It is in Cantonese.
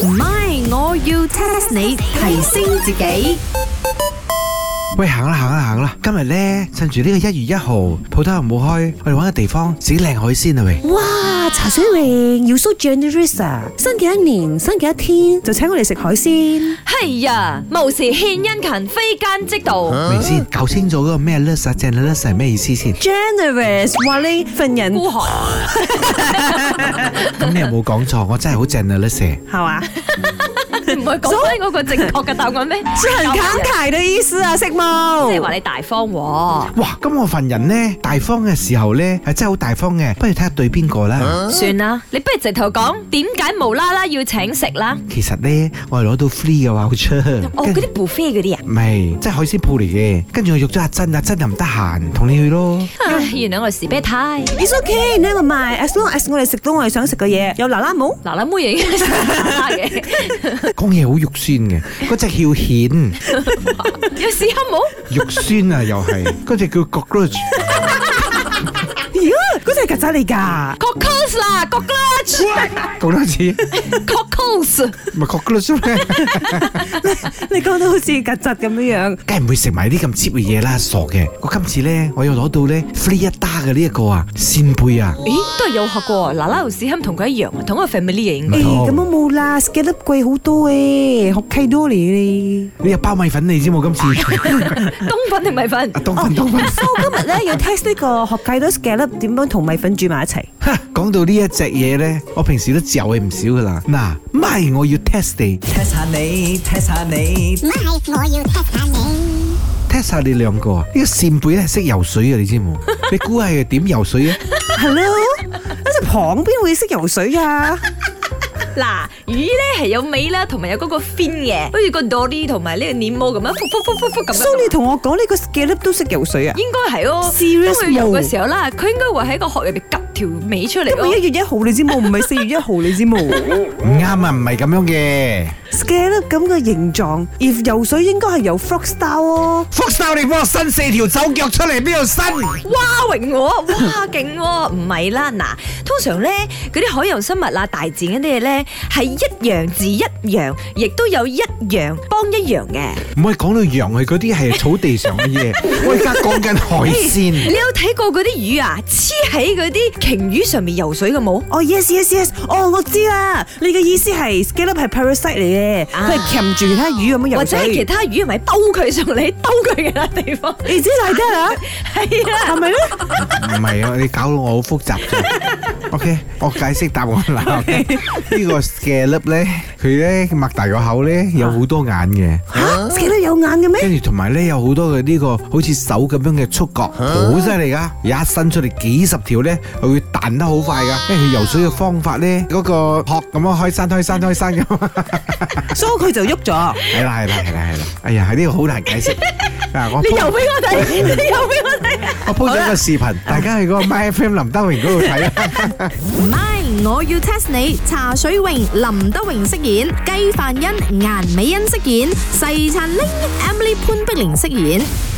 唔係，我要 test 你提升自己。 喂，行啦！今日咧，趁住呢個1月1號，鋪頭又冇開，我哋搵個地方食靚海鮮啊喂！ 哇，茶水榮要 so generous 啊！新嘅一年，新嘅一天，就請我哋食海鮮。 係呀，無事獻殷勤，非奸即盜。 明先搞清楚嗰個咩 list 啊，generous 係咩意思先 ？generous 話你份人孤寒。 咁你又冇講錯，我真係好 generous 係嘛？ 唔係講翻嗰個正確嘅答案咩？ 很慷慨的意思啊，識冇？ 即係話你大方喎。 哇，咁我份人呢，大方嘅時候呢，係真係好大方嘅，不如睇下對邊個啦。 算啦，你不如直頭講點解無啦啦要請食啦？ 其實呢，我係攞到 free 嘅話好出。 哦，嗰啲 buffet 嗰啲啊？ 唔係，即係海鮮鋪嚟嘅。跟住我約咗阿珍又唔得閒，同你去咯。 唉，原來我係士啤太。 It's okay，你咪賣 as long as 我哋食到我哋想食嘅嘢，有嗱嗱冇？ 嗱嗱妹已經食嗱嗱嘅。 講嘢好肉酸嘅，嗰隻叫蜆。 有試下冇？ 肉酸啊，又係嗰隻叫 cockroach。 嗰隻係曱甴嚟㗎 ，cockroach 啦 ，cockroach。 講多次 ，cockroach。 唔係 cockroach 咩？ 你講到好似曱甴咁樣， 梗係唔會食埋啲咁 cheap 嘅嘢啦，傻嘅！我今次咧，我又攞到咧 free 一打嘅呢一個啊，扇貝啊！ 咦，都係有學過，嗱嗱同史堪同佢一樣啊，同一個 family 嘅應該。 咁我冇啦 ，scallop 貴好多誒，學契多嚟嘅。 你有包米粉你知冇？今次冬粉定米粉？ 冬粉。 我今日咧要 test 呢個學契多 scallop 點樣同米粉煮埋一齊。 講到呢一隻嘢咧，我平時都嚼佢唔少噶啦。嗱，咪我要 test 你 ，test 下你，test 下你， 咪我要 test 下你 ，test 下你兩個啊！呢個扇貝咧係識游水啊，你知冇？你估係點游水啊？ 係咯，一隻蚌邊會識游水啊？ 嗱，魚咧係有尾啦，同埋有嗰個 fin 嘅，好似個 dory 同埋呢個黏毛咁樣，咁樣。 所以你同我講呢個 scallop 都識游水啊？ 應該係咯。 Serious 當佢游嘅時候啦，佢應該會喺個殼入邊夾條尾出嚟。 今日1月1號你知冇？唔係4月1號你知冇？ 唔啱啊，唔係咁樣嘅。 scallop 咁嘅形狀，if 游水應該係游 frog style 哦。 frog style 你幫我伸4條手腳出嚟，邊度伸？ 哇，榮我，哇，勁喎！唔係啦，嗱，通常咧嗰啲海洋生物啊、大自然嗰啲嘢咧係一樣字一樣，亦都有一樣幫一樣嘅。 唔可以講到羊係嗰啲係草地上嘅嘢，我而家講緊海鮮。 你有睇過嗰啲魚啊黐喺嗰啲鯨魚上面游水嘅冇？ 哦 yes，哦我知啦，你嘅意思係 scallop 係 parasite 嚟嘅，佢係鉗住其他魚咁樣游水， 或者係其他魚係咪兜佢上嚟，兜佢其他地方？ 你知大家啊？ 係啊， 係咪咧？ 唔係啊，你搞到我好複雜啫。OK， 我解釋答案啦。呢個 scallop 咧，佢咧擘大個口咧有好多眼嘅。 嚇 scallop 有眼嘅咩？ 跟住同埋咧有好多嘅呢個好似手咁樣嘅觸角，好犀利噶！一伸出嚟幾十條咧，佢會彈得好快噶。因為佢游水嘅方法咧，嗰個殼咁樣開山咁。 所以佢就喐咗。 係啦。哎呀，呢個好難解釋。 你游俾我睇， 我 po 咗個視頻，大家去嗰個 MyFM 林德榮嗰度睇啦。 唔係，我要 test 你。茶水榮、林德榮飾演，雞飯欣、顏美欣飾演，細陳玲、Emily 潘碧玲飾演。